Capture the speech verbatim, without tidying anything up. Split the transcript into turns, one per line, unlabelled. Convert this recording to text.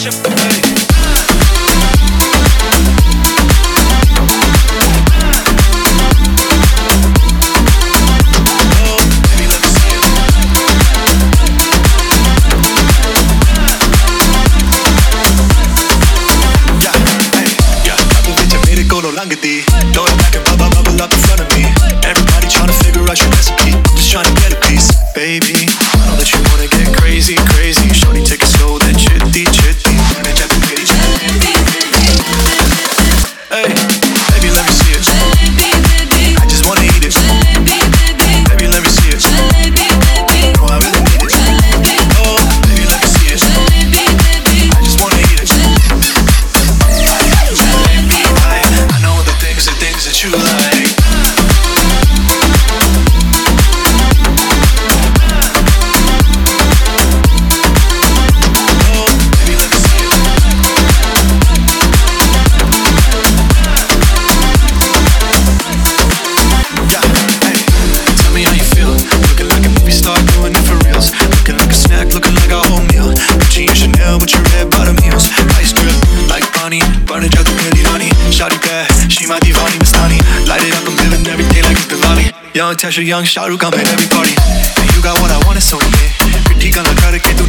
Throw it back and bubble, bubble up in front of me. Everybody tryna figure out your recipe. I'm just tryna get a piece, baby. I know that you wanna get crazy, crazy. Shorty, take it slow, then chitty, chitty. Wanna jack the bitty, hey, baby, let me see it. I just wanna eat it. Baby, let me see it. No, I really need it. Oh, baby, let me see it. I just wanna eat it. I know the things, the things that you like. Burning out the pretty honey. Shawty bad, she my divani Mastani. Light it up, I'm living every day like it's Diwali. Young Tasha, young Shahrukh, I'm at every party. And you got what I want, it's so yeah. Critique on the cara que tu